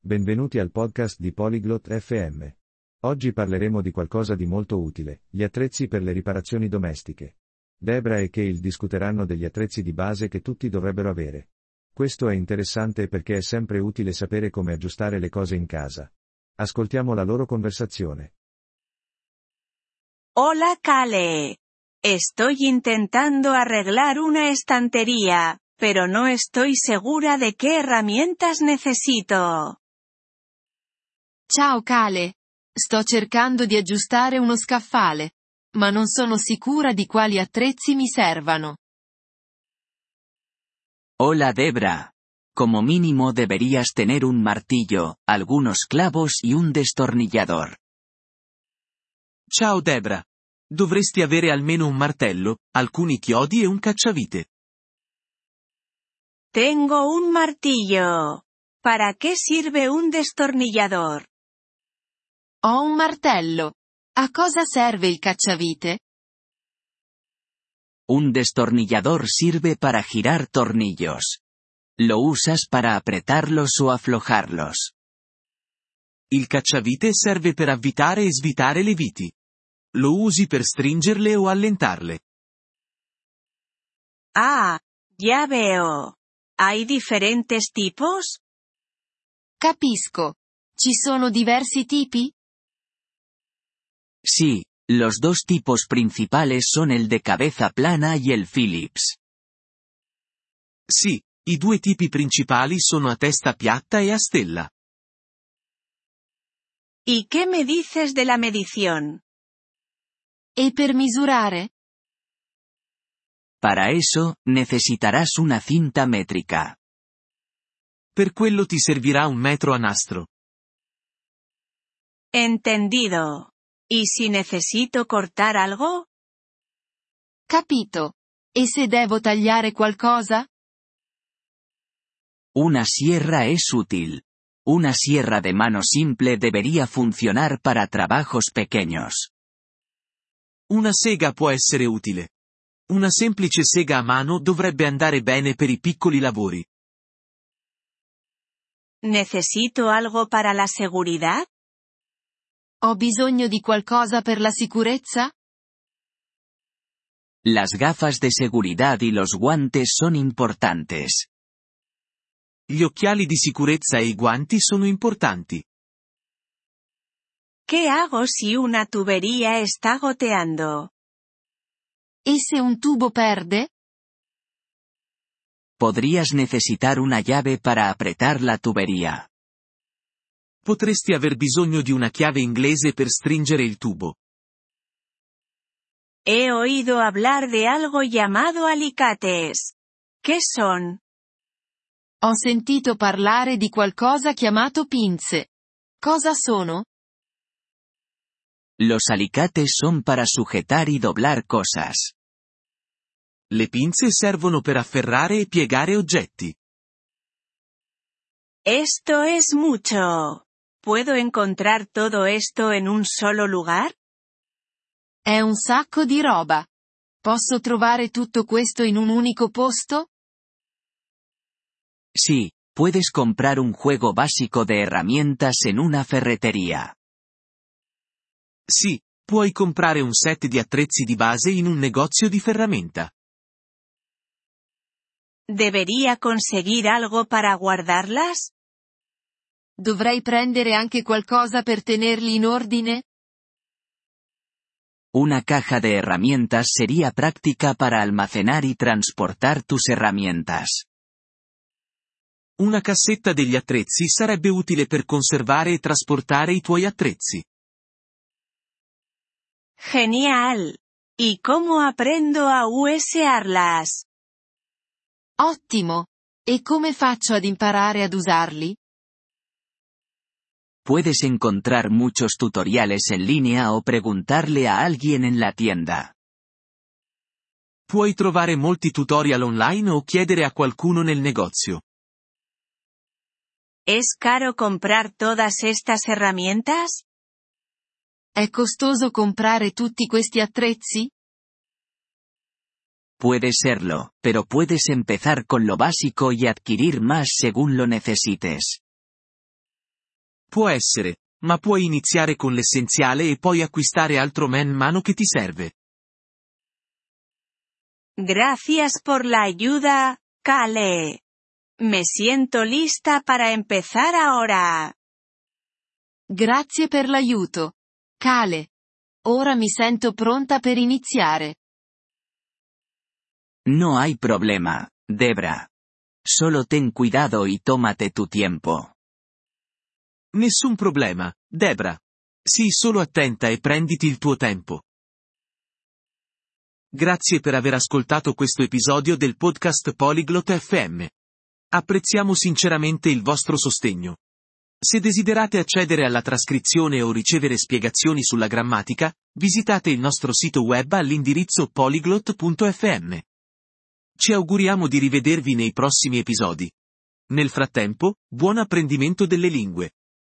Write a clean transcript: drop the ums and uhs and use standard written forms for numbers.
Benvenuti al podcast di Polyglot FM. Oggi parleremo di qualcosa di molto utile, gli attrezzi per le riparazioni domestiche. Debra e Cale discuteranno degli attrezzi di base che tutti dovrebbero avere. Questo è interessante perché è sempre utile sapere come aggiustare le cose in casa. Ascoltiamo la loro conversazione. Hola Cale. Estoy intentando arreglar una estantería, pero no estoy segura de qué herramientas necesito. Ciao Cale. Sto cercando di aggiustare uno scaffale, ma non sono sicura di quali attrezzi mi servano. Hola Debra. Como mínimo deberías tener un martillo, algunos clavos y un destornillador. Ciao Debra. Dovresti avere almeno un martello, alcuni chiodi e un cacciavite. Tengo un martillo. ¿Para qué sirve un destornillador? Ho un martello. A cosa serve il cacciavite? Un destornillador sirve para girar tornillos. Lo usas para apretarlos o aflojarlos. Il cacciavite serve per avvitare e svitare le viti. Lo usi per stringerle o allentarle. Ah, ya veo. ¿Hay diferentes tipos? Capisco. Ci sono diversi tipi? Sí, los dos tipos principales son el de cabeza plana y el Phillips. Sì, i due tipi principali sono a testa piatta e a stella. ¿Y qué me dices de la medición? E per misurare? Para eso, necesitarás una cinta métrica. Per quello ti servirà un metro a nastro. Entendido. ¿Y si necesito cortar algo? Capito. E se devo tagliare qualcosa? Una sierra es útil. Una sierra de mano simple debería funcionar para trabajos pequeños. Una sega può essere utile. Una semplice sega a mano dovrebbe andare bene per i piccoli lavori. ¿Necesito algo para la seguridad? Ho bisogno di qualcosa per la sicurezza? Las gafas de seguridad y los guantes son importantes. Gli occhiali di sicurezza e i guanti sono importanti. ¿Qué hago si una tubería está goteando? E se un tubo perde? Podrías necesitar una llave para apretar la tubería. Potresti aver bisogno di una chiave inglese per stringere il tubo. He oído hablar de algo llamado alicates. ¿Qué son? Ho sentito parlare di qualcosa chiamato pinze. Cosa sono? Los alicates son para sujetar y doblar cosas. Le pinze servono per afferrare e piegare oggetti. Esto es mucho. ¿Puedo encontrar todo esto en un solo lugar? È un sacco di roba. Posso trovare tutto questo in un unico posto? Sí, puedes comprar un juego básico de herramientas en una ferretería. Sì, puoi comprare un set di attrezzi di base in un negozio di ferramenta. ¿Debería conseguir algo para guardarlas? Dovrei prendere anche qualcosa per tenerli in ordine? Una caja de herramientas sería práctica para almacenar y transportar tus herramientas. Una cassetta degli attrezzi sarebbe utile per conservare e trasportare i tuoi attrezzi. Genial. ¿Y cómo aprendo a usarlas? Ottimo! E come faccio ad imparare ad usarli? Puedes encontrar muchos tutoriales en línea o preguntarle a alguien en la tienda. Puoi trovare molti tutorial online o chiedere a qualcuno nel negozio. ¿Es caro comprar todas estas herramientas? È costoso comprare tutti questi attrezzi? Puede serlo, pero puedes empezar con lo básico y adquirir más según lo necesites. Può essere, ma puoi iniziare con l'essenziale e poi acquistare altro man mano che ti serve. Gracias por la ayuda, Kale. Me siento lista para empezar ahora. Grazie per l'aiuto, Kale. Ora mi sento pronta per iniziare. No hay problema, Debra. Solo ten cuidado y tómate tu tiempo. Nessun problema, Debra. Sii solo attenta e prenditi il tuo tempo. Grazie per aver ascoltato questo episodio del podcast Polyglot FM. Apprezziamo sinceramente il vostro sostegno. Se desiderate accedere alla trascrizione o ricevere spiegazioni sulla grammatica, visitate il nostro sito web all'indirizzo polyglot.fm. Ci auguriamo di rivedervi nei prossimi episodi. Nel frattempo, buon apprendimento delle lingue.